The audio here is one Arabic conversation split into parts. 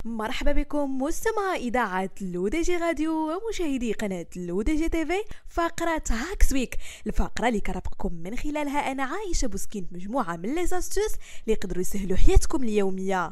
مرحبا بكم مستمعي إذاعة لو دي جي راديو ومشاهدي قناة لو دي جي تيفي. فقرة هاكس ويك، الفقرة اللي كرفقكم من خلالها أنا عايشة بوسكين مجموعة من لي زاستوس اللي يقدروا يسهلوا حياتكم اليومية.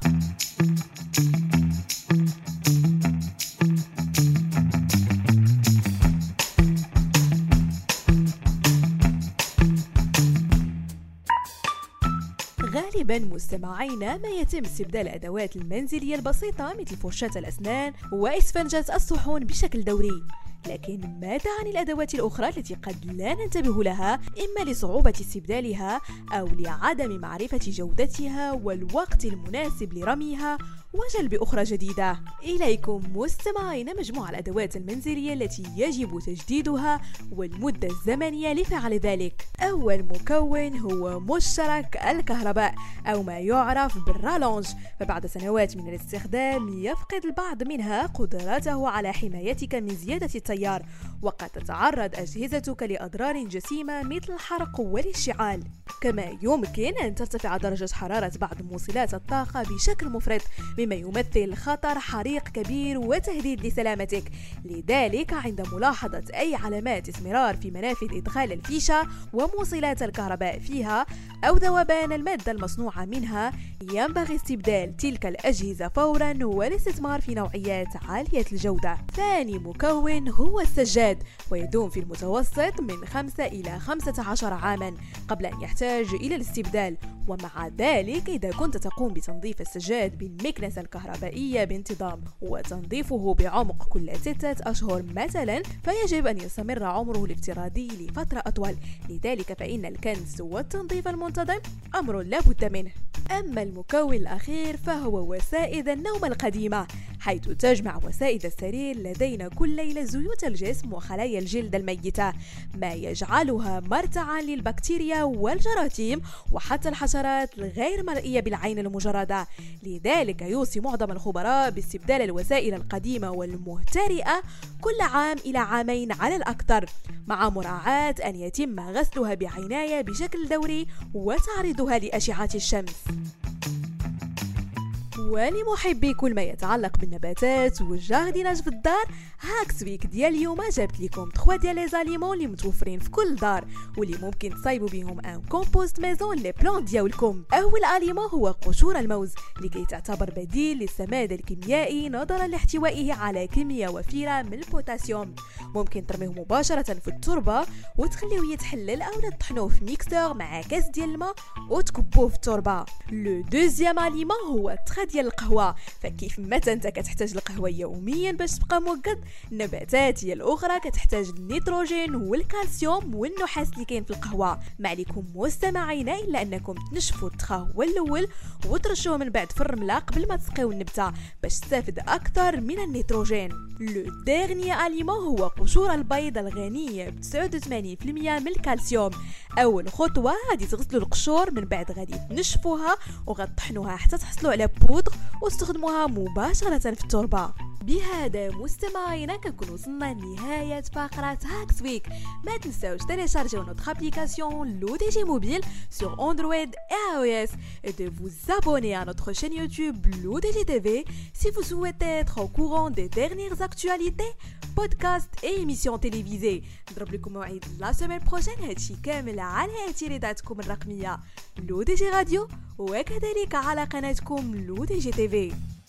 غالبا مستمعينا ما يتم استبدال الأدوات المنزلية البسيطة مثل فرشاة الأسنان وإسفنجة الصحون بشكل دوري، لكن ماذا عن الأدوات الأخرى التي قد لا ننتبه لها إما لصعوبة استبدالها أو لعدم معرفة جودتها والوقت المناسب لرميها وجلب أخرى جديدة؟ إليكم مستمعين مجموعة الأدوات المنزلية التي يجب تجديدها والمدة الزمنية لفعل ذلك. أول مكون هو مشترك الكهرباء أو ما يعرف بالرالونج، فبعد سنوات من الاستخدام يفقد البعض منها قدرته على حمايتك من زيادة التيار، وقد تتعرض أجهزتك لأضرار جسيمة مثل الحرق والاشتعال. كما يمكن أن ترتفع درجة حرارة بعض موصلات الطاقة بشكل مفرط مما يمثل خطر حريق كبير وتهديد لسلامتك. لذلك عند ملاحظة أي علامات اسمرار في منافذ إدخال الفيشة وموصلات الكهرباء فيها أو ذوبان المادة المصنوعة منها ينبغي استبدال تلك الأجهزة فورا والاستثمار في نوعيات عالية الجودة. ثاني مكون هو السجاد، ويدوم في المتوسط من 5 إلى 15 عاما قبل أن يحتاج إلى الاستبدال. ومع ذلك إذا كنت تقوم بتنظيف السجاد بالمكنسة الكهربائية بانتظام وتنظيفه بعمق كل 6 أشهر مثلا، فيجب أن يستمر عمره الافتراضي لفترة أطول. لذلك فإن الكنس والتنظيف المنتظم أمر لا بد منه. أما المكون الأخير فهو وسائد النوم القديمة، حيث تجمع وسائد السرير لدينا كل ليلة زيوت الجسم وخلايا الجلد الميتة، ما يجعلها مرتعا للبكتيريا والجراثيم وحتى الحشرات الغير مرئية بالعين المجردة. لذلك يوصي معظم الخبراء باستبدال الوسائل القديمة والمهترئة كل عام إلى عامين على الأكثر، مع مراعاة أن يتم غسلها بعناية بشكل دوري وتعريضها لأشعة الشمس. ولمحبي كل ما يتعلق بالنباتات والجارديناج في الدار، هاكس ويك ديال اليوم جابت لكم 3 ديال لي زاليمون اللي متوفرين في كل دار واللي ممكن تصايبوا بهم ان كومبوست ميزون لي بلان ديالكم. اول اليمون هو قشور الموز، لكي تعتبر بديل للسماد الكيميائي نظرا لاحتوائه على كميه وفيره من البوتاسيوم. ممكن ترميه مباشره في التربه وتخليه يتحلل او تطحنوه في ميكسور مع كاس ديال الماء وتكبوه في التربه. لو دوزيام اليمون هو ديال القهوة، فكيف ما انت كتحتاج القهوة يوميا باش تبقى موقد، النباتات هي الاخرى كتحتاج النيتروجين والكالسيوم والنحاس اللي كاين في القهوة. ما عليكم مستمعينا الا انكم تنشفوا التخا هو الاول وترشوه من بعد في الرملة قبل ما تسقيو النبتة باش تستافد اكثر من النيتروجين. لو ديرني اليمون هو قشور البيض الغنية ب 89% من الكالسيوم. اول خطوة غادي تغسلوا القشور، من بعد غادي تنشفوها وغتطحنوها حتى تحصلوا على بودغ واستخدموها مباشرة في التربة. بهذا مستمعينا كنكون وصلنا لنهاية فقرة هاكس ويك. ما تنساوش télécharger notre application LODG Mobile sur Android et iOS et de vous abonner à notre chaîne YouTube LODG TV si vous souhaitez être au courant des dernières actualités, podcasts et émissions télévisées. نضرب لكم موعد la semaine prochaine، هادشي كامل على اعتراضاتكم الرقمية LODG راديو وكذلك على قناتكم LODG TV.